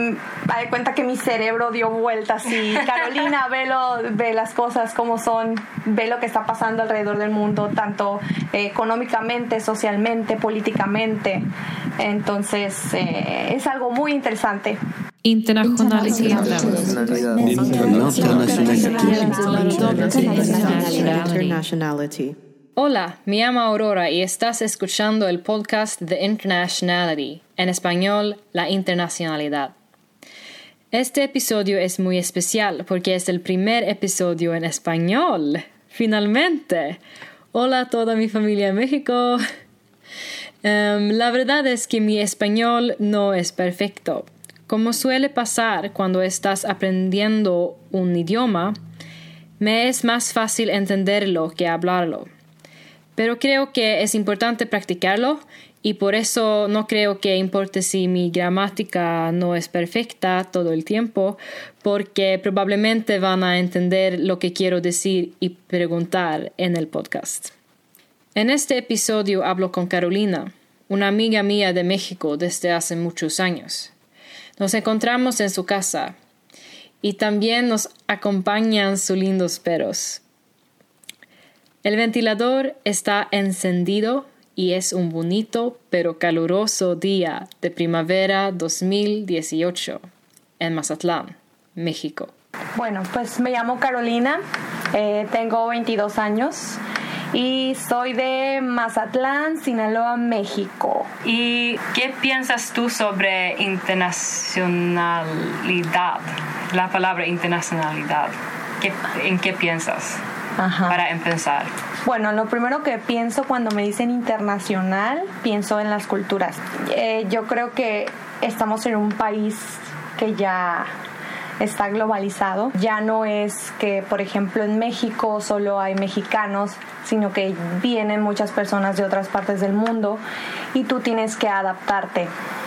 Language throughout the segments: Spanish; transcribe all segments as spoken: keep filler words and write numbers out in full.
me di cuenta que mi cerebro dio vueltas y Carolina, ve, lo, ve las cosas como son, ve lo que está pasando alrededor del mundo, tanto eh, económicamente, socialmente, políticamente. Entonces, eh, es algo muy interesante. Internacionalidad. Internationality. Hola, me llamo Aurora y estás escuchando el podcast The Internationality, en español, la internacionalidad. Este episodio es muy especial porque es el primer episodio en español. ¡Finalmente! Hola a toda mi familia en México. Um, la verdad es que mi español no es perfecto. Como suele pasar cuando estás aprendiendo un idioma, me es más fácil entenderlo que hablarlo. Pero creo que es importante practicarlo y por eso no creo que importe si mi gramática no es perfecta todo el tiempo, porque probablemente van a entender lo que quiero decir y preguntar en el podcast. En este episodio hablo con Carolina, una amiga mía de México desde hace muchos años. Nos encontramos en su casa y también nos acompañan sus lindos perros. El ventilador está encendido y es un bonito pero caluroso día de primavera dos mil dieciocho en Mazatlán, México. Bueno, pues me llamo Carolina, eh, tengo veintidós años y soy de Mazatlán, Sinaloa, México. ¿Y qué piensas tú sobre internacionalidad? La palabra internacionalidad. ¿Qué, ¿En qué piensas? Ajá. Para empezar. Bueno, lo primero que pienso cuando me dicen internacional, pienso en las culturas. Eh, yo creo que estamos en un país que ya está globalizado. Ya no es que, por ejemplo, en México solo hay mexicanos, sino que vienen muchas personas de otras partes del mundo y tú tienes que adaptarte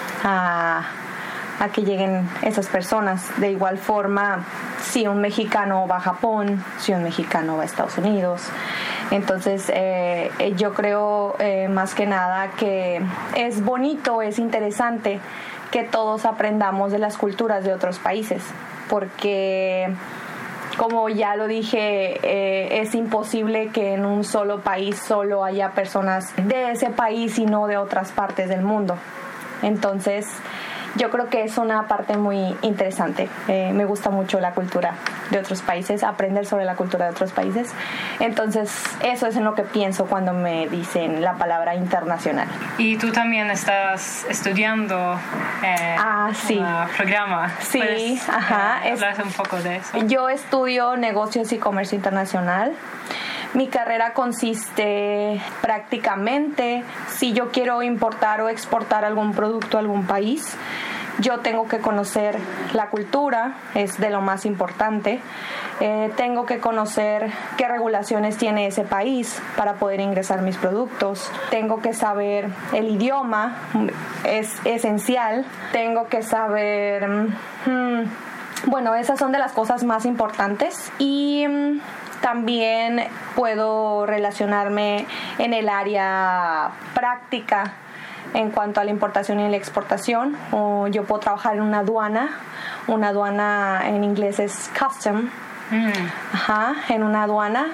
a, a que lleguen esas personas. De igual forma, si un mexicano va a Japón, si un mexicano va a Estados Unidos. Entonces, eh, yo creo eh, más que nada que es bonito, es interesante que todos aprendamos de las culturas de otros países, porque como ya lo dije, eh, es imposible que en un solo país solo haya personas de ese país y no de otras partes del mundo. Entonces, yo creo que es una parte muy interesante. Eh, me gusta mucho la cultura de otros países, aprender sobre la cultura de otros países. Entonces, eso es en lo que pienso cuando me dicen la palabra internacional. Y tú también estás estudiando eh, ah, sí. un programa. Sí, ¿Puedes, ajá. Eh, hablar un poco de eso? Yo estudio negocios y comercio internacional. Mi carrera consiste prácticamente, si yo quiero importar o exportar algún producto a algún país, yo tengo que conocer la cultura, es de lo más importante. Eh, tengo que conocer qué regulaciones tiene ese país para poder ingresar mis productos. Tengo que saber el idioma, es esencial. Tengo que saber... Hmm, bueno, esas son de las cosas más importantes. Y... también puedo relacionarme en el área práctica en cuanto a la importación y la exportación. O yo puedo trabajar en una aduana. Una aduana en inglés es custom. Mm. Ajá, en una aduana.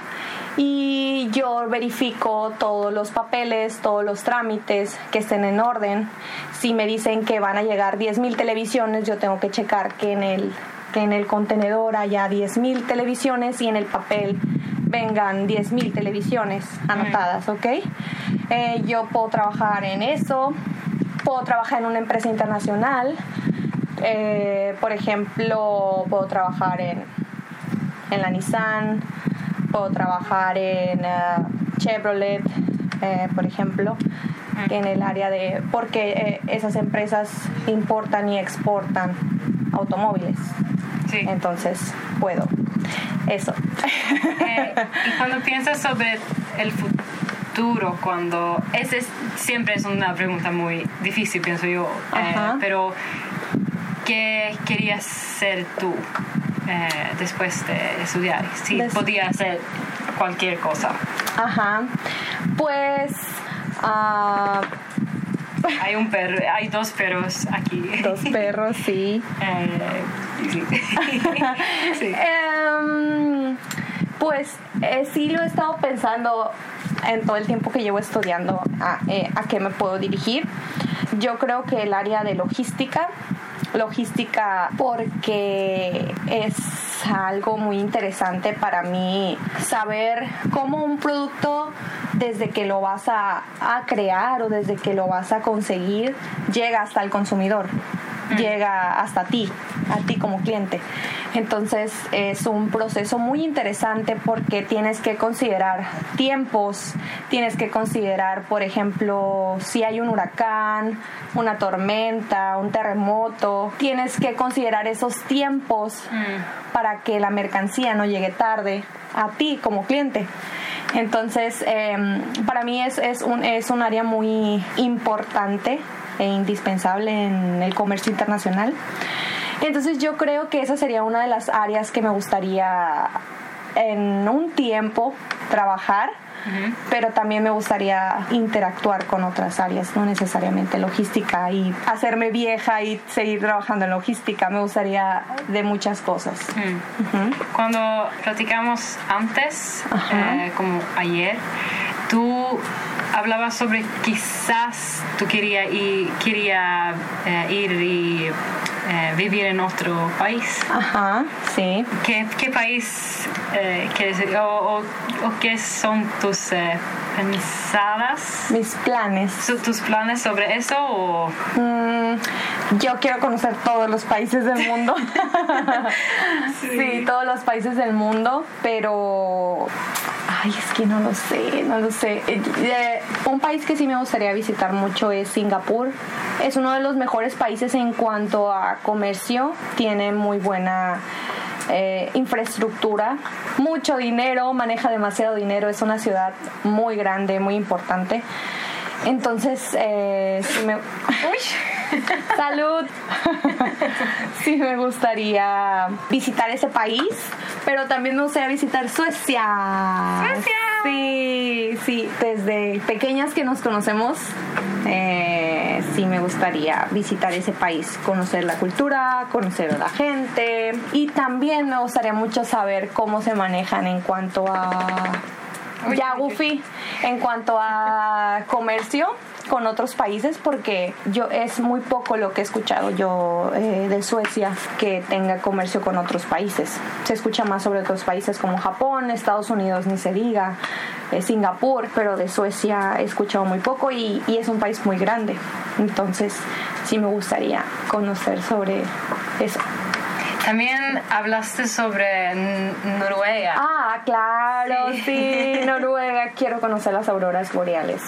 Y yo verifico todos los papeles, todos los trámites que estén en orden. Si me dicen que van a llegar diez mil televisiones, yo tengo que checar que en el... que en el contenedor haya diez mil televisiones y en el papel vengan diez mil televisiones anotadas, ¿ok? Eh, yo puedo trabajar en eso, puedo trabajar en una empresa internacional, eh, por ejemplo, puedo trabajar en, en la Nissan, puedo trabajar en uh, Chevrolet, eh, por ejemplo, en el área de... porque eh, esas empresas importan y exportan automóviles. Sí. Entonces, puedo. Eso. Eh, y cuando piensas sobre el futuro, cuando... Esa es, siempre es una pregunta muy difícil, pienso yo. Eh, pero, ¿qué querías ser tú eh, después de estudiar? Si Des- podías hacer cualquier cosa. Ajá. Pues... Uh, hay un perro, hay dos perros aquí. Dos perros, sí. Eh, sí. Sí. Um, pues eh, sí lo he estado pensando en todo el tiempo que llevo estudiando a, eh, a qué me puedo dirigir. Yo creo que el área de logística, logística porque es algo muy interesante para mí saber cómo un producto desde que lo vas a, a crear o desde que lo vas a conseguir llega hasta el consumidor, mm. llega hasta ti, a ti como cliente. Entonces es un proceso muy interesante porque tienes que considerar tiempos, tienes que considerar, por ejemplo, si hay un huracán, una tormenta, un terremoto, tienes que considerar esos tiempos mm. para que la mercancía no llegue tarde a ti como cliente. Entonces, eh, para mí es, es, un, es un área muy importante e indispensable en el comercio internacional. Entonces yo creo que esa sería una de las áreas que me gustaría en un tiempo trabajar, uh-huh. pero también me gustaría interactuar con otras áreas, no necesariamente logística y hacerme vieja y seguir trabajando en logística. Me gustaría de muchas cosas. Uh-huh. Uh-huh. Cuando platicamos antes, uh-huh. eh, como ayer, tú hablabas sobre quizás tú quería ir, quería, eh, ir y eh, vivir en otro país. Ajá, sí. ¿Qué, qué país eh, quieres o, o, o qué son tus eh, pensadas? Mis planes. ¿Tus planes sobre eso? O? Mm, yo quiero conocer todos los países del mundo. sí. sí, todos los países del mundo, pero... Ay, es que no lo sé, no lo sé. Eh, un país que sí me gustaría visitar mucho es Singapur. Es uno de los mejores países en cuanto a comercio. Tiene muy buena eh, infraestructura, mucho dinero, maneja demasiado dinero. Es una ciudad muy grande, muy importante. Entonces, eh, sí me... ¡Uy! ¡Salud! Sí me gustaría visitar ese país, pero también me gustaría visitar Suecia. ¡Suecia! Sí, sí. Desde pequeñas que nos conocemos, eh, sí me gustaría visitar ese país, conocer la cultura, conocer a la gente. Y también me gustaría mucho saber cómo se manejan en cuanto a... Ya, Goofy, en cuanto a comercio con otros países, porque yo es muy poco lo que he escuchado yo eh, de Suecia que tenga comercio con otros países. Se escucha más sobre otros países como Japón, Estados Unidos, ni se diga, eh, Singapur, pero de Suecia he escuchado muy poco y, y es un país muy grande. Entonces sí me gustaría conocer sobre eso. También hablaste sobre Noruega. Ah, claro, sí, sí Noruega. Quiero conocer las auroras boreales.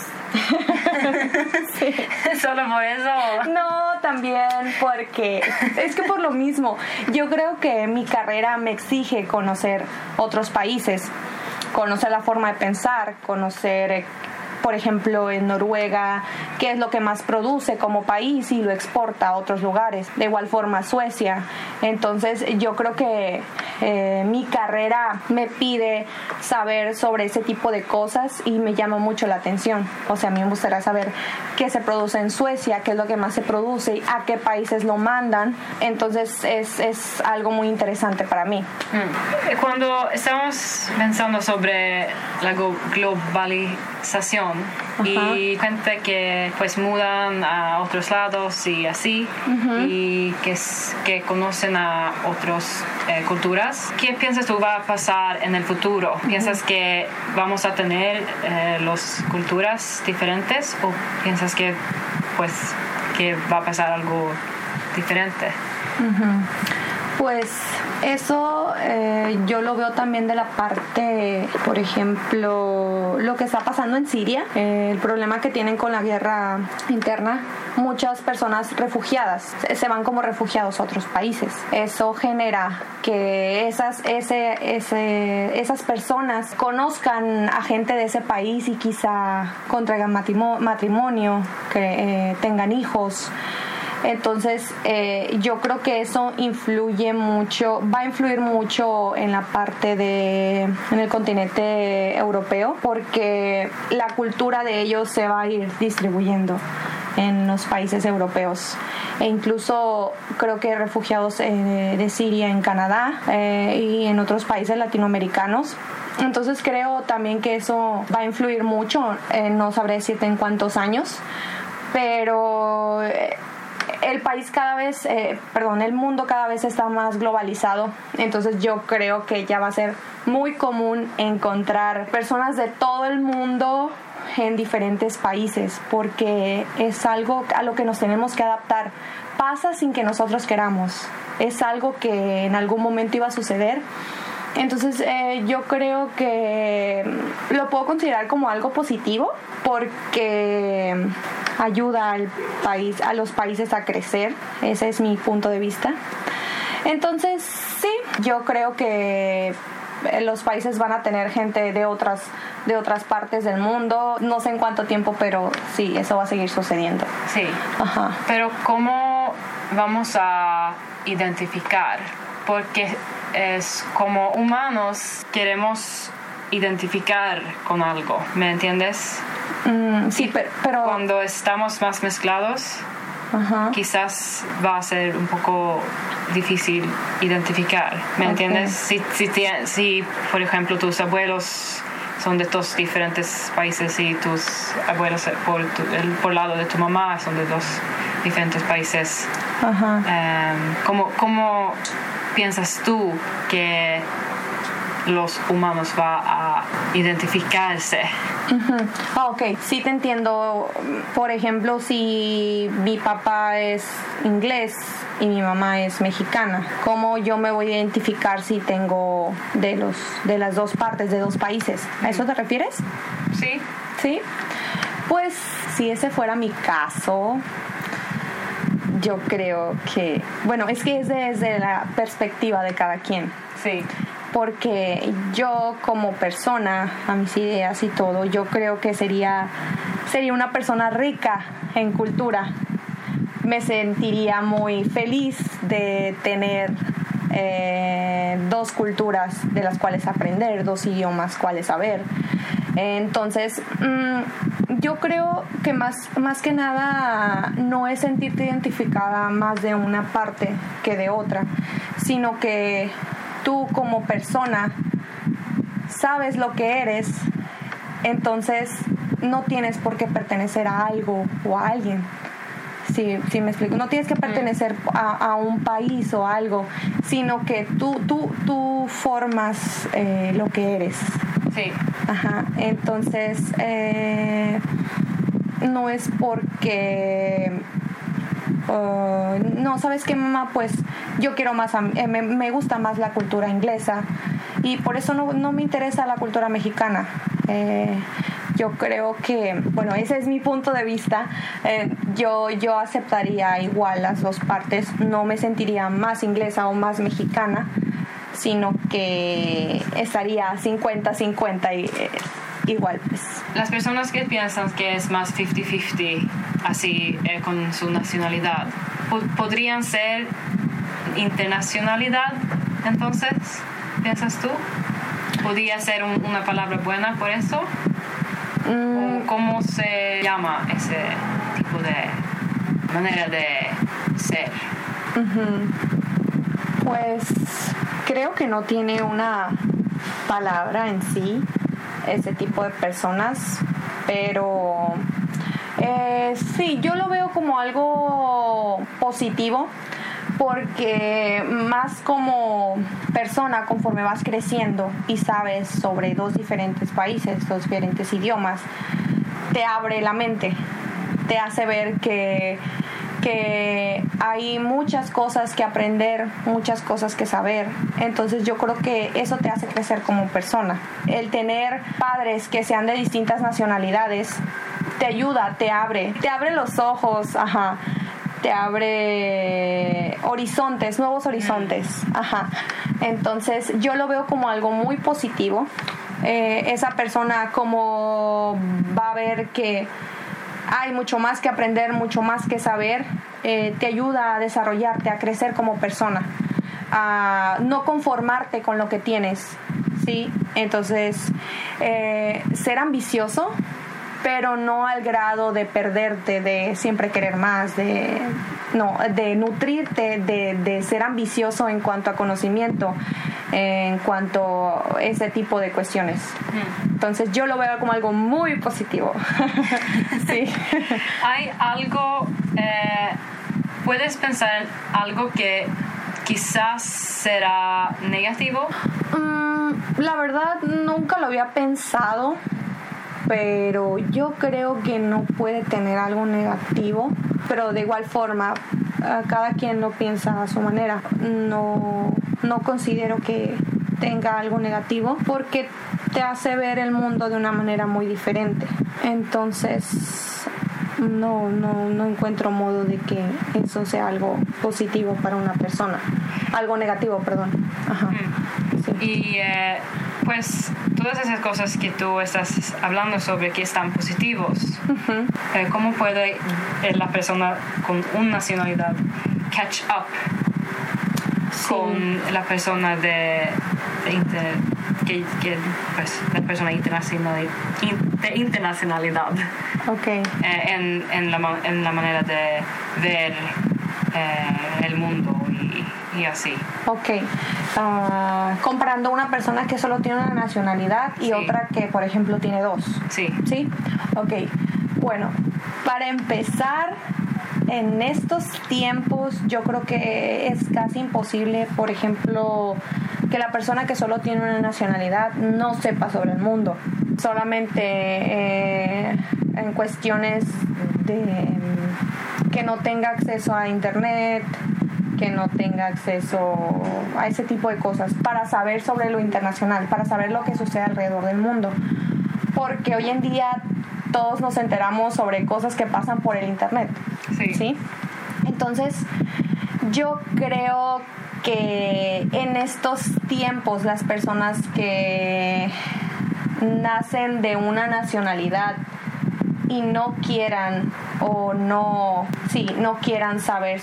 Sí. ¿Solo por eso? No, también porque es que por lo mismo, yo creo que mi carrera me exige conocer otros países, conocer la forma de pensar, conocer... Por ejemplo, en Noruega, qué es lo que más produce como país y lo exporta a otros lugares. De igual forma, Suecia. Entonces, yo creo que eh, mi carrera me pide saber sobre ese tipo de cosas y me llama mucho la atención. O sea, a mí me gustaría saber qué se produce en Suecia, qué es lo que más se produce, a qué países lo mandan. Entonces, es, es algo muy interesante para mí. Cuando estamos pensando sobre la globalización, Ajá. y gente que pues mudan a otros lados y así, uh-huh. y que, que conocen a otras eh, culturas. ¿Qué piensas tú va a pasar en el futuro? Uh-huh. ¿Piensas que vamos a tener eh, las culturas diferentes o piensas que pues que va a pasar algo diferente? Uh-huh. Pues eso eh, yo lo veo también de la parte, por ejemplo, lo que está pasando en Siria, eh, el problema que tienen con la guerra interna. Muchas personas refugiadas se van como refugiados a otros países. Eso genera que esas, ese, ese, esas personas conozcan a gente de ese país y quizá contraigan matrimonio, que eh, tengan hijos. Entonces eh, yo creo que eso influye mucho, va a influir mucho en la parte de, en el continente europeo, porque la cultura de ellos se va a ir distribuyendo. en los países europeos e incluso creo que refugiados eh, de Siria en Canadá eh, y en otros países latinoamericanos. Entonces creo también que eso va a influir mucho, eh, no sabré decirte en cuántos años, pero eh, el país cada vez, eh, perdón, el mundo cada vez está más globalizado, entonces yo creo que ya va a ser muy común encontrar personas de todo el mundo en diferentes países, porque es algo a lo que nos tenemos que adaptar. Pasa sin que nosotros queramos, es algo que en algún momento iba a suceder. Entonces eh, yo creo que lo puedo considerar como algo positivo porque ayuda al país, a los países a crecer. Ese es mi punto de vista. Entonces sí, yo creo que los países van a tener gente de otras de otras partes del mundo, no sé en cuánto tiempo, pero sí, eso va a seguir sucediendo. Sí. Ajá. Pero ¿cómo vamos a identificar? Porque es como humanos queremos identificar con algo, ¿me entiendes? Mm, sí, pero, pero cuando estamos más mezclados, ajá, quizás va a ser un poco difícil identificar, ¿me okay. entiendes? Si, si, si, por ejemplo, tus abuelos son de dos diferentes países y tus abuelos por, tu, el, por lado de tu mamá son de dos diferentes países, ajá. Um, ¿cómo, ¿cómo piensas tú que los humanos va a identificarse? Uh-huh. Ah, ok, sí te entiendo. Por ejemplo, si mi papá es inglés y mi mamá es mexicana, ¿cómo yo me voy a identificar si tengo de los de las dos partes, de dos países? ¿A eso te refieres? Sí. ¿Sí? Pues si ese fuera mi caso, yo creo que, bueno, es que es desde la perspectiva de cada quien. Sí. Porque yo como persona, a mis ideas y todo, yo creo que sería, sería una persona rica en cultura. Me sentiría muy feliz de tener eh, dos culturas de las cuales aprender, dos idiomas cuales saber. Entonces, mmm, yo creo que más, más que nada no es sentirte identificada más de una parte que de otra, sino que tú como persona sabes lo que eres, entonces no tienes por qué pertenecer a algo o a alguien. Sí, sí me explico. No tienes que pertenecer a, a un país o algo, sino que tú, tú, tú formas eh, lo que eres. Sí. Ajá. Entonces, eh, no es porque... Uh, no, ¿sabes qué, mamá? Pues yo quiero más, eh, me, me gusta más la cultura inglesa y por eso no, no me interesa la cultura mexicana. Eh, yo creo que, bueno, ese es mi punto de vista. Eh, yo, yo aceptaría igual las dos partes. No me sentiría más inglesa o más mexicana, sino que estaría cincuenta cincuenta y... Eh, igual, pues. Las personas que piensan que es más cincuenta cincuenta así eh, con su nacionalidad, ¿podrían ser internacionalidad entonces? ¿Piensas tú? ¿Podría ser un, una palabra buena por eso? Mm. ¿O cómo se llama ese tipo de manera de ser? Uh-huh. Pues creo que no tiene una palabra en sí ese tipo de personas, pero eh, sí, yo lo veo como algo positivo, porque más como persona, conforme vas creciendo y sabes sobre dos diferentes países, dos diferentes idiomas, te abre la mente, te hace ver que que hay muchas cosas que aprender, muchas cosas que saber. Entonces yo creo que eso te hace crecer como persona. El tener padres que sean de distintas nacionalidades te ayuda, te abre, te abre los ojos, ajá, te abre horizontes, nuevos horizontes, ajá. Entonces yo lo veo como algo muy positivo. Eh, esa persona como va a ver que hay mucho más que aprender, mucho más que saber, eh, te ayuda a desarrollarte, a crecer como persona, a no conformarte con lo que tienes, ¿sí? Entonces, eh, ser ambicioso pero no al grado de perderte, de siempre querer más, de no, de nutrirte, de, de ser ambicioso en cuanto a conocimiento, en cuanto a ese tipo de cuestiones. Entonces yo lo veo como algo muy positivo. Sí. ¿Hay algo, eh, puedes pensar en algo que quizás será negativo? Mm, la verdad nunca lo había pensado, pero yo creo que no puede tener algo negativo, pero de igual forma cada quien lo piensa a su manera. No, no considero que tenga algo negativo porque te hace ver el mundo de una manera muy diferente. Entonces no, no, no encuentro modo de que eso sea algo positivo para una persona. Algo negativo, perdón. Ajá. Sí. Y eh, pues todas esas cosas que tú estás hablando sobre que están positivos, uh-huh. eh, ¿cómo puede eh, la persona con una nacionalidad catch up sí. con la persona de, de inter, que, que pues la persona internacional, de internacionalidad? Okay. Eh, en, en, la, en la manera de ver eh, el mundo y, y así. Ok. Uh, comparando una persona que solo tiene una nacionalidad y sí. otra que, por ejemplo, tiene dos. Sí. ¿Sí? Ok. Bueno, para empezar, en estos tiempos yo creo que es casi imposible, por ejemplo, que la persona que solo tiene una nacionalidad no sepa sobre el mundo. Solamente eh, en cuestiones de que no tenga acceso a internet, que no tenga acceso a ese tipo de cosas para saber sobre lo internacional, para saber lo que sucede alrededor del mundo. Porque hoy en día todos nos enteramos sobre cosas que pasan por el internet. Sí. ¿Sí? Entonces, yo creo que en estos tiempos las personas que nacen de una nacionalidad y no quieran o no, sí, no quieran saber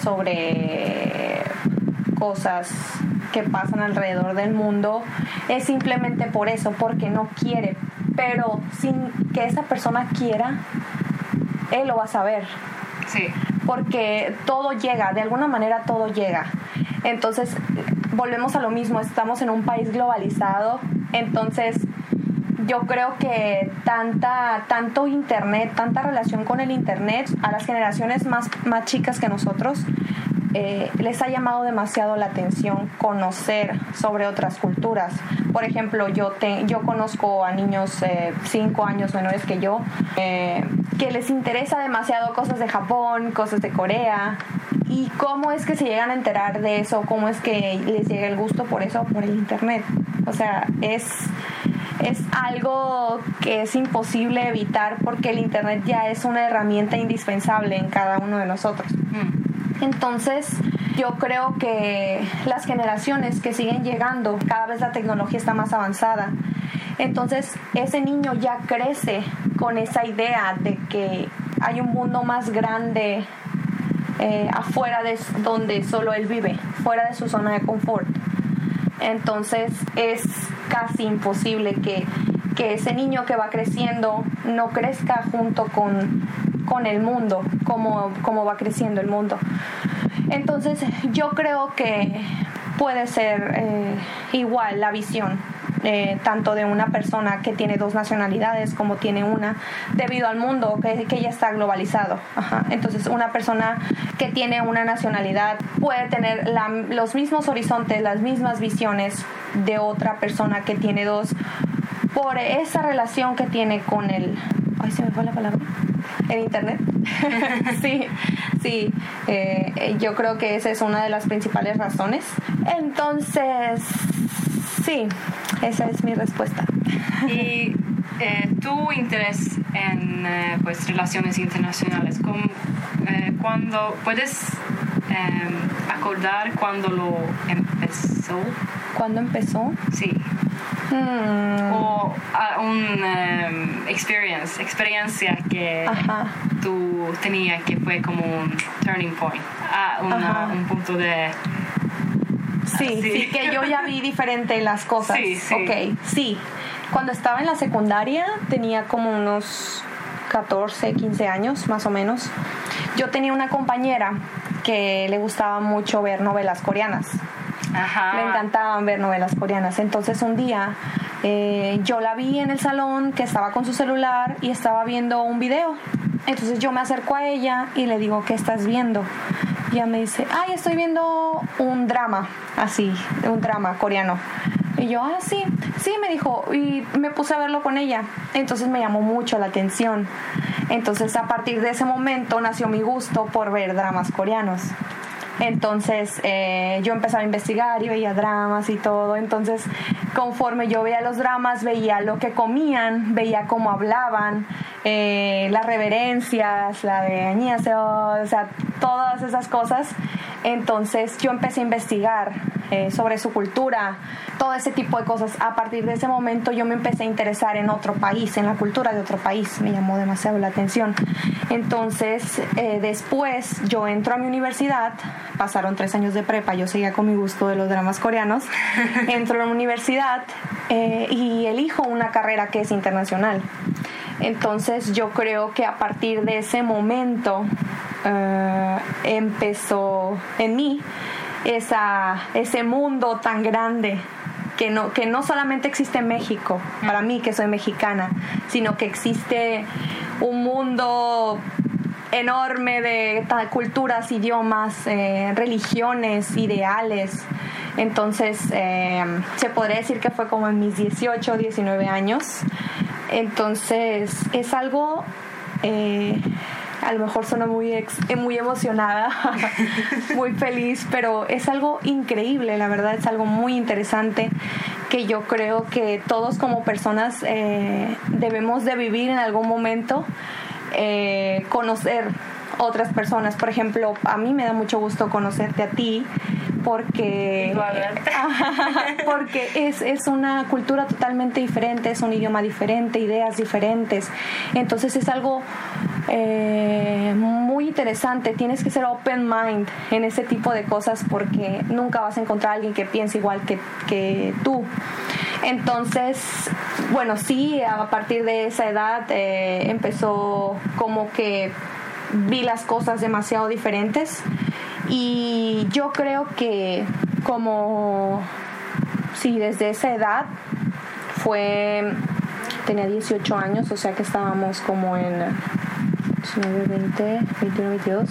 sobre cosas que pasan alrededor del mundo, es simplemente por eso, porque no quiere. Pero sin que esa persona quiera, él lo va a saber. Sí. Porque todo llega, de alguna manera todo llega. Entonces, volvemos a lo mismo, estamos en un país globalizado, entonces yo creo que tanta, tanto internet, tanta relación con el internet, a las generaciones más, más chicas que nosotros, eh, les ha llamado demasiado la atención conocer sobre otras culturas. Por ejemplo, yo, te, yo conozco a niños eh, cinco años menores que yo, eh, que les interesa demasiado cosas de Japón, cosas de Corea. ¿Y cómo es que se llegan a enterar de eso? ¿Cómo es que les llega el gusto por eso? Por el internet. O sea, es... es algo que es imposible evitar porque el internet ya es una herramienta indispensable en cada uno de nosotros. Mm. Entonces, yo creo que las generaciones que siguen llegando, cada vez la tecnología está más avanzada. Entonces, ese niño ya crece con esa idea de que hay un mundo más grande eh, afuera de donde solo él vive, fuera de su zona de confort. Entonces es casi imposible que, que ese niño que va creciendo no crezca junto con, con el mundo, como, como va creciendo el mundo. Entonces yo creo que puede ser eh, igual la visión, eh, tanto de una persona que tiene dos nacionalidades como tiene una, debido al mundo que, que ya está globalizado. Ajá. Entonces una persona que tiene una nacionalidad puede tener la, los mismos horizontes, las mismas visiones de otra persona que tiene dos, por esa relación que tiene con el... Ay, se me fue la palabra. El internet. sí, sí. Eh, yo creo que esa es una de las principales razones. Entonces, sí, esa es mi respuesta. Y eh, tu interés en eh, pues relaciones internacionales, ¿cómo, eh, cuando puedes eh, acordar cuándo lo empezó? ¿Cuándo empezó? Sí. Hmm. O uh, un um, experience, experiencia que Ajá. tú tenías que fue como un turning point, uh, una, un punto de... Sí, uh, sí, sí, que yo ya vi diferente las cosas. Sí, sí. Ok, sí. Cuando estaba en la secundaria tenía como unos catorce, quince años más o menos, yo tenía una compañera que le gustaba mucho ver novelas coreanas. Ajá. Le encantaban ver novelas coreanas. Entonces un día eh, yo la vi en el salón que estaba con su celular y estaba viendo un video. Entonces yo me acerco a ella y le digo, ¿qué estás viendo? Y ella me dice, ay, estoy viendo un drama, así, un drama coreano. Y yo, ah, sí, sí, me dijo, y me puse a verlo con ella. Entonces me llamó mucho la atención. Entonces a partir de ese momento nació mi gusto por ver dramas coreanos. Entonces eh, yo empezaba a investigar y veía dramas y todo. Entonces conforme yo veía los dramas, veía lo que comían, veía cómo hablaban, eh, las reverencias, la de añaseo, o sea, todas esas cosas. Entonces yo empecé a investigar eh, sobre su cultura, todo ese tipo de cosas. A partir de ese momento yo me empecé a interesar en otro país, en la cultura de otro país. Me llamó demasiado la atención. Entonces eh, después yo entro a mi universidad, pasaron tres años de prepa, yo seguía con mi gusto de los dramas coreanos. Entro a la universidad eh, y elijo una carrera que es internacional. Entonces yo creo que a partir de ese momento uh, empezó en mí esa, ese mundo tan grande que no, que no solamente existe en México, para mí que soy mexicana, sino que existe un mundo enorme de culturas, idiomas, eh, religiones, ideales. Entonces eh, se podría decir que fue como en mis dieciocho, diecinueve años. Entonces es algo, eh, a lo mejor suena muy, ex, muy emocionada, muy feliz, pero es algo increíble, la verdad es algo muy interesante que yo creo que todos como personas eh, debemos de vivir en algún momento, eh, conocer otras personas. Por ejemplo, a mí me da mucho gusto conocerte a ti porque porque es, es una cultura totalmente diferente, es un idioma diferente, ideas diferentes. Entonces es algo eh, muy interesante. Tienes que ser open mind en ese tipo de cosas porque nunca vas a encontrar a alguien que piense igual que, que tú. Entonces, bueno, sí, a partir de esa edad eh, empezó como que vi las cosas demasiado diferentes y yo creo que como sí, desde esa edad fue, tenía dieciocho años, o sea que estábamos como en diecinueve, veinte, veintiuno, veintidós,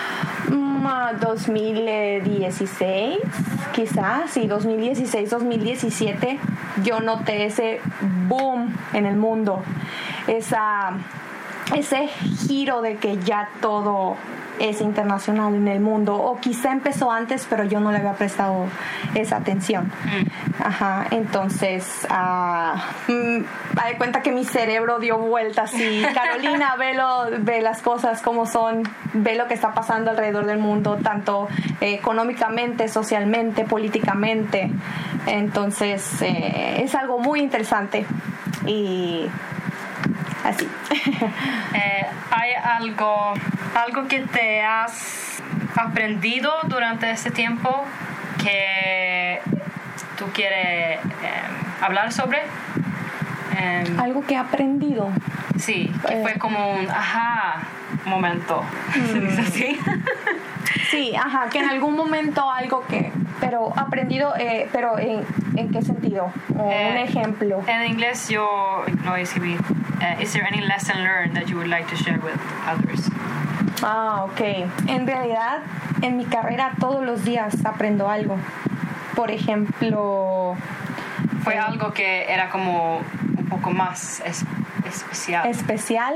dos mil dieciséis quizás, sí, dos mil dieciséis, dos mil diecisiete yo noté ese boom en el mundo, esa ese giro de que ya todo es internacional en el mundo, o quizá empezó antes pero yo no le había prestado esa atención. Ajá, entonces uh, me di cuenta que mi cerebro dio vueltas y Carolina, ve, lo, ve las cosas como son, ve lo que está pasando alrededor del mundo, tanto eh, económicamente, socialmente, políticamente. Entonces eh, es algo muy interesante y así. eh, ¿Hay algo, algo que te has aprendido durante este tiempo que tú quieres eh, hablar sobre? Eh, algo que he aprendido. Sí, que fue como un ajá momento. ¿Se dice así? Sí, ajá, que en algún momento algo que, pero aprendido, eh, pero en, ¿en qué sentido? O eh, un ejemplo. En inglés yo no escribí. Uh, is there any lesson learned that you would like to share with others? Ah, ok. En realidad, en mi carrera todos los días aprendo algo. Por ejemplo... ¿Fue eh, algo que era como un poco más es, especial? ¿Especial?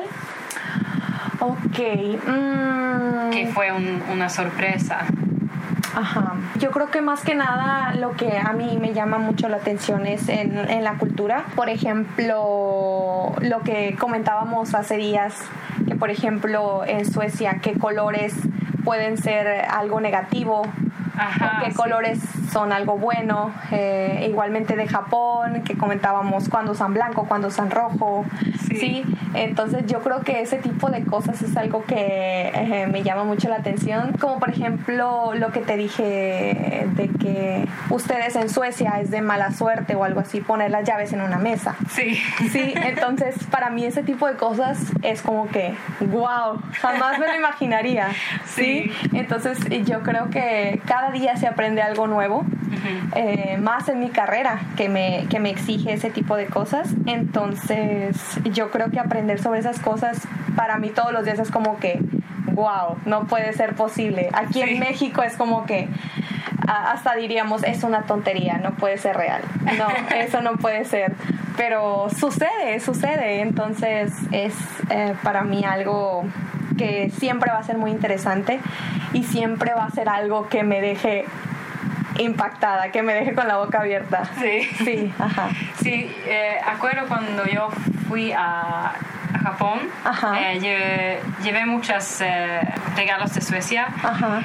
Ok. Mm. Que fue un, una sorpresa. Ajá. Yo creo que más que nada lo que a mí me llama mucho la atención es en, en la cultura. Por ejemplo, lo que comentábamos hace días, que por ejemplo en Suecia, qué colores pueden ser algo negativo. Ajá, qué sí. colores son algo bueno. Eh, igualmente de Japón, que comentábamos cuándo usan blanco, cuándo usan rojo. Sí. ¿sí? Entonces yo creo que ese tipo de cosas es algo que eh, me llama mucho la atención. Como por ejemplo lo que te dije de que ustedes en Suecia es de mala suerte o algo así poner las llaves en una mesa. Sí. Sí, entonces para mí ese tipo de cosas es como que, wow, jamás me lo imaginaría. Sí. ¿Sí? Entonces yo creo que cada día se aprende algo nuevo, uh-huh. eh, más en mi carrera que me, que me exige ese tipo de cosas. Entonces yo creo que aprender sobre esas cosas para mí todos los días es como que, wow, no puede ser posible. Aquí sí. en México es como que hasta diríamos, es una tontería, no puede ser real. No, eso no puede ser. Pero sucede, sucede. Entonces es eh, para mí algo que siempre va a ser muy interesante y siempre va a ser algo que me deje impactada, que me deje con la boca abierta. Sí. Sí, ajá. Sí, eh, acuerdo cuando yo fui a a Japón, eh, llevé, llevé muchos eh, regalos de Suecia. Ajá.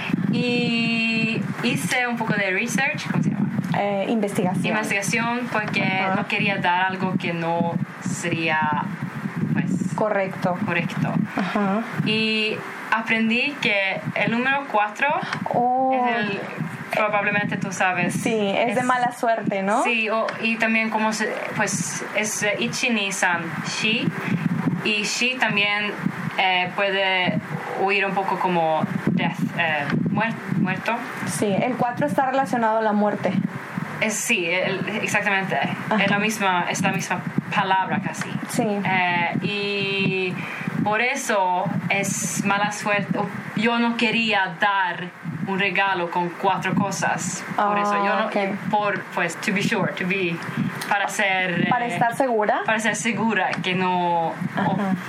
Y hice un poco de research, ¿cómo se llama? Eh, investigación. Investigación, porque Ajá. no quería dar algo que no sería pues, correcto. correcto. Ajá. Y aprendí que el número cuatro oh. es el... Probablemente tú sabes. Sí, es, es de mala suerte, ¿no? Sí, o, y también como se, pues es Ichi, Ni, San, Shi. Y Shi también eh, puede huir un poco como death, eh, muer, muerto. Sí, el cuatro está relacionado a la muerte. Es, sí, el, exactamente. Es la, misma, es la misma palabra casi. Sí. Eh, y por eso es mala suerte. Yo no quería dar un regalo con cuatro cosas. Por oh, eso yo no, okay. por pues to be sure, to be para ser para eh, estar segura, para ser segura que no Ajá.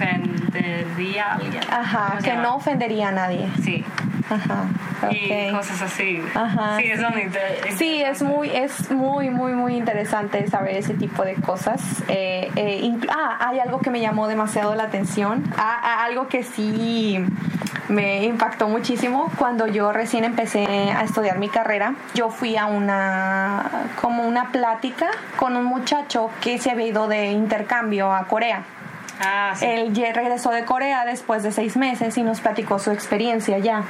ofendería a alguien. Ajá, que no ofendería a nadie. Sí. Ajá. Okay. Y cosas así. Ajá, sí, sí. es interesante. Sí, es muy, es muy, muy, muy interesante saber ese tipo de cosas. Eh, eh, inclu- ah, hay algo que me llamó demasiado la atención. Ah, ah, algo que sí me impactó muchísimo cuando yo recién empecé a estudiar mi carrera. Yo fui a una, como una plática con un muchacho que se había ido de intercambio a Corea. Ah, sí. Él ya regresó de Corea después de seis meses y nos platicó su experiencia allá.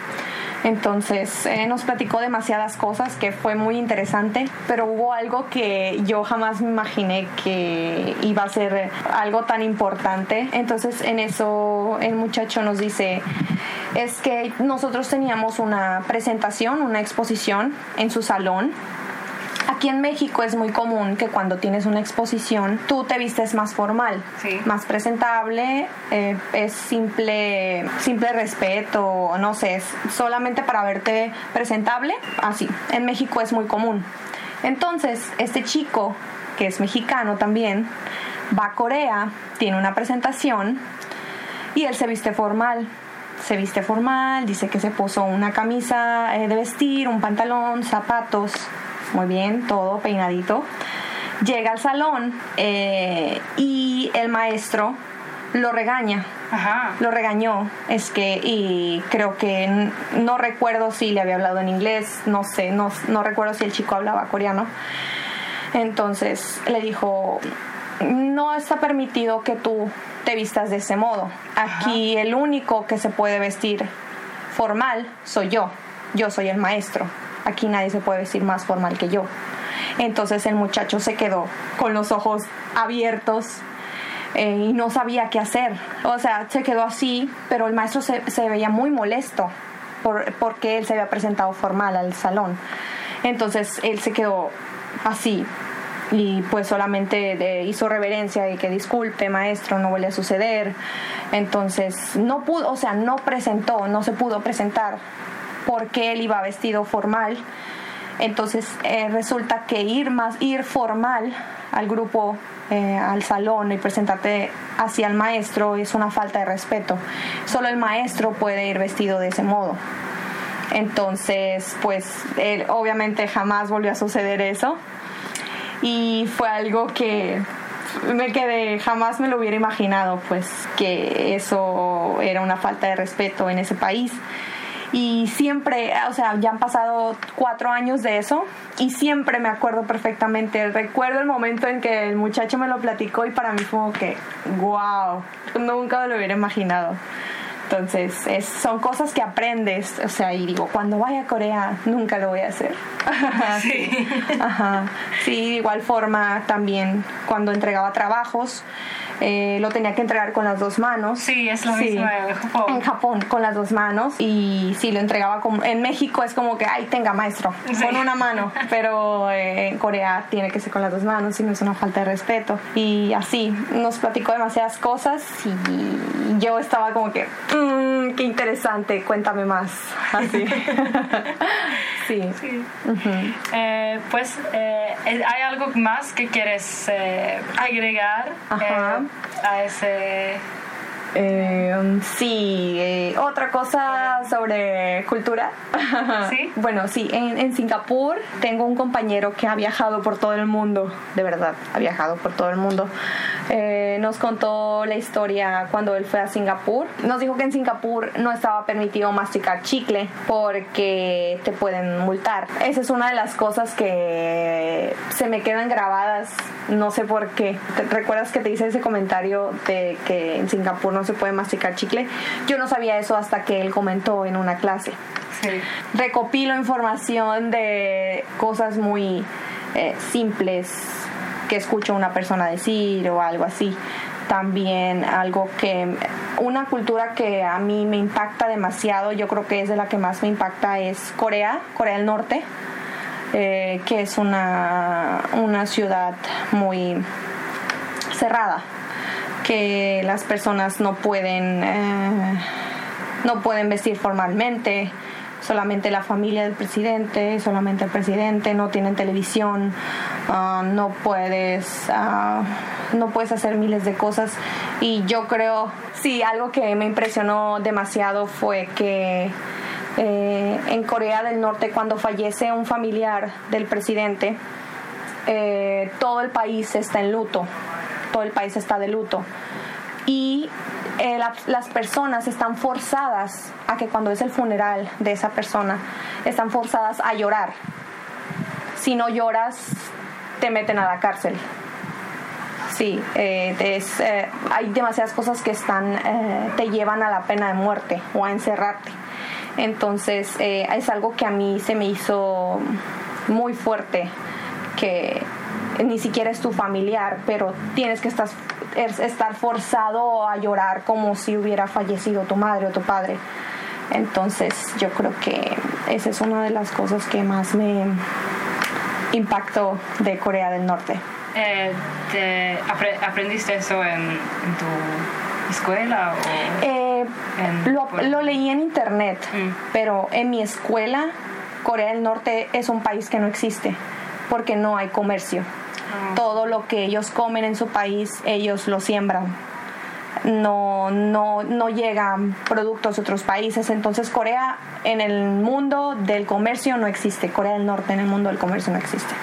Entonces eh, nos platicó demasiadas cosas que fue muy interesante, pero hubo algo que yo jamás me imaginé que iba a ser algo tan importante. Entonces en eso el muchacho nos dice, es que nosotros teníamos una presentación, una exposición en su salón. Aquí en México es muy común que cuando tienes una exposición tú te vistes más formal, sí. más presentable, eh, es simple, simple respeto, no sé, es solamente para verte presentable, así. En México es muy común. Entonces, este chico, que es mexicano también, va a Corea, tiene una presentación y él se viste formal. Se viste formal, dice que se puso una camisa eh, de vestir, un pantalón, zapatos. Muy bien, todo peinadito. Llega al salón eh, y el maestro lo regaña. Ajá. Lo regañó. Es que, y creo que n- no recuerdo si le había hablado en inglés, no sé, no, no recuerdo si el chico hablaba coreano. Entonces le dijo, no está permitido que tú te vistas de ese modo. Aquí Ajá. el único que se puede vestir formal soy yo. Yo soy el maestro. Aquí nadie se puede vestir más formal que yo. Entonces el muchacho se quedó con los ojos abiertos eh, y no sabía qué hacer. O sea, se quedó así, pero el maestro se, se veía muy molesto por, porque él se había presentado formal al salón. Entonces él se quedó así y pues solamente de, hizo reverencia y que disculpe maestro, no vuelve a suceder. Entonces no pudo, o sea, no presentó, no se pudo presentar porque él iba vestido formal. Entonces eh, resulta que ir más ir formal al grupo, eh, al salón y presentarte hacia el maestro es una falta de respeto. Solo el maestro puede ir vestido de ese modo. Entonces pues él, obviamente jamás volvió a suceder eso y fue algo que me quedé, jamás me lo hubiera imaginado, pues que eso era una falta de respeto en ese país. Y siempre, o sea, ya han pasado cuatro años de eso y siempre me acuerdo perfectamente. Recuerdo el momento en que el muchacho me lo platicó y para mí fue como que, wow, nunca me lo hubiera imaginado. Entonces, es, son cosas que aprendes, o sea, y digo, cuando vaya a Corea, nunca lo voy a hacer. Sí. Ajá. Sí, de igual forma también cuando entregaba trabajos, eh, lo tenía que entregar con las dos manos. Sí, es lo sí. mismo en Japón. En Japón, con las dos manos. Y sí, lo entregaba como... En México es como que, ay, tenga, maestro, sí. con una mano. Pero eh, en Corea tiene que ser con las dos manos, y no es una falta de respeto. Y así, nos platicó demasiadas cosas y yo estaba como que, mmm, qué interesante, cuéntame más. Así. Sí. sí. Uh-huh. eh, pues, eh, ¿hay algo más que quieres eh, agregar eh, a ese...? Eh, sí, eh, otra cosa sobre cultura. ¿Sí? Bueno, sí, en, en Singapur tengo un compañero que ha viajado por todo el mundo, de verdad, ha viajado por todo el mundo. Eh, nos contó la historia cuando él fue a Singapur. Nos dijo que en Singapur no estaba permitido masticar chicle porque te pueden multar. Esa es una de las cosas que se me quedan grabadas, no sé por qué. ¿Te recuerdas que te hice ese comentario de que en Singapur no se puede masticar chicle? Yo no sabía eso hasta que él comentó en una clase. Sí. Recopilo información de cosas muy eh, simples que escucho una persona decir o algo así. También algo que, una cultura que a mí me impacta demasiado, yo creo que es de la que más me impacta, es Corea, Corea del Norte, eh, que es una, una ciudad muy cerrada, que las personas no pueden, eh, no pueden vestir formalmente. Solamente la familia del presidente, solamente el presidente, no tienen televisión, uh, no puedes uh, no puedes hacer miles de cosas. Y yo creo, sí, algo que me impresionó demasiado fue que eh, en Corea del Norte, cuando fallece un familiar del presidente, eh, todo el país está en luto, todo el país está de luto. Y eh, la, las personas están forzadas a que cuando es el funeral de esa persona, están forzadas a llorar. Si no lloras, te meten a la cárcel. Sí, eh, es, eh, hay demasiadas cosas que están, eh, te llevan a la pena de muerte o a encerrarte. Entonces, eh, es algo que a mí se me hizo muy fuerte, que ni siquiera es tu familiar, pero tienes que estar, estar forzado a llorar como si hubiera fallecido tu madre o tu padre. Entonces yo creo que esa es una de las cosas que más me impactó de Corea del Norte. Eh, te apre- ¿Aprendiste eso en, en tu escuela? O eh, en, lo, lo leí en internet, mm. pero en mi escuela, Corea del Norte es un país que no existe porque no hay comercio. Oh. Todo lo que ellos comen en su país, ellos lo siembran. No, no, no llegan productos de otros países. Entonces Corea en el mundo del comercio no existe. Corea del Norte en el mundo del comercio no existe.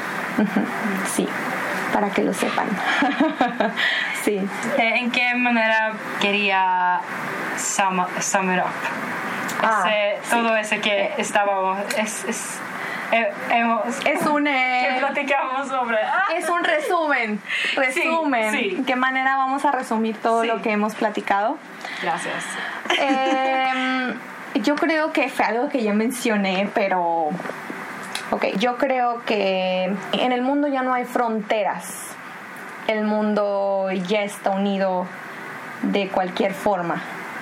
Sí, para que lo sepan. Sí. ¿En qué manera quería sum, sum it up? Ah, ese, sí. Todo ese que estábamos... Es, es, Eh, hemos, es un eh, que platicamos sobre ah. es un resumen resumen sí, sí. ¿Qué manera vamos a resumir todo sí. lo que hemos platicado? Gracias. eh, yo creo que fue algo que ya mencioné, pero ok, yo creo que en el mundo ya no hay fronteras. El mundo ya está unido de cualquier forma.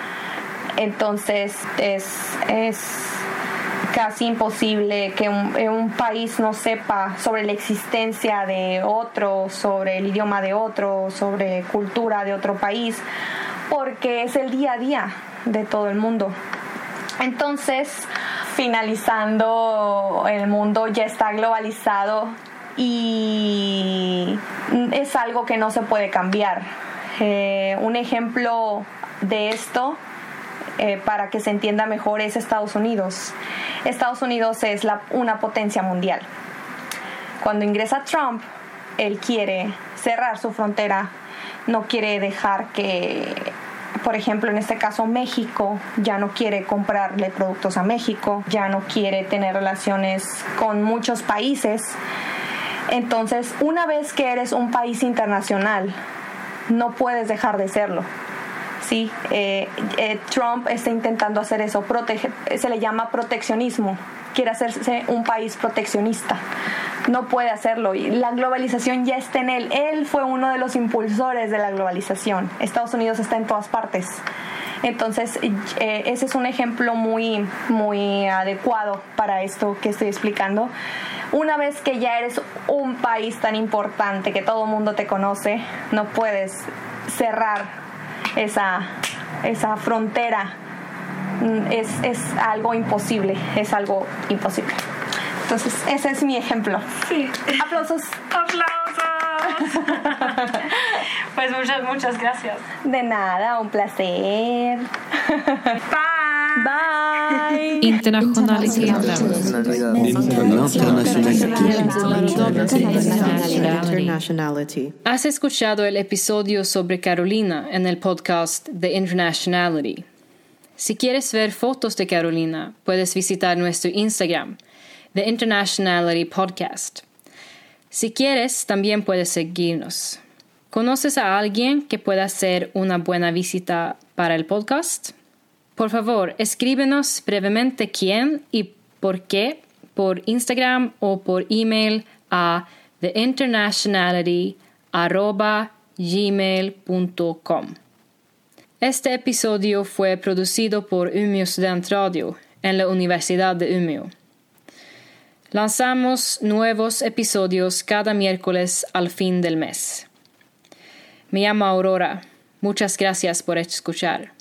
Entonces es es casi imposible que un, un país no sepa sobre la existencia de otro, sobre el idioma de otro, sobre cultura de otro país, porque es el día a día de todo el mundo. Entonces, finalizando, el mundo ya está globalizado y es algo que no se puede cambiar. Eh, un ejemplo de esto, Eh, para que se entienda mejor, es Estados Unidos. Estados Unidos es la, una potencia mundial. Cuando ingresa Trump, él quiere cerrar su frontera, no quiere dejar que, por ejemplo, en este caso México, ya no quiere comprarle productos a México, ya no quiere tener relaciones con muchos países. Entonces, una vez que eres un país internacional, no puedes dejar de serlo. Sí, eh, eh, Trump está intentando hacer eso, protege, se le llama proteccionismo, quiere hacerse un país proteccionista, no puede hacerlo, y la globalización ya está en él, él fue uno de los impulsores de la globalización, Estados Unidos está en todas partes, entonces eh, ese es un ejemplo muy, muy adecuado para esto que estoy explicando. Una vez que ya eres un país tan importante que todo el mundo te conoce, no puedes cerrar esa, esa frontera. Es, es algo imposible, es algo imposible. Entonces, ese es mi ejemplo. Sí. Aplausos. Aplausos. Pues muchas, muchas gracias. De nada, un placer. Bye. Bye. Internationalitet. Internationality. Has escuchado el episodio sobre Carolina en el podcast The Internationality. Si quieres ver fotos de Carolina, puedes visitar nuestro Instagram, The Internationality Podcast. Si quieres, también puedes seguirnos. ¿Conoces a alguien que pueda ser una buena visita para el podcast? Por favor, escríbenos brevemente quién y por qué por Instagram o por email a theinternationality arroba gmail punto com. Este episodio fue producido por Umeå Studentradio en la Universidad de Umeå. Lanzamos nuevos episodios cada miércoles al fin del mes. Me llamo Aurora. Muchas gracias por escuchar.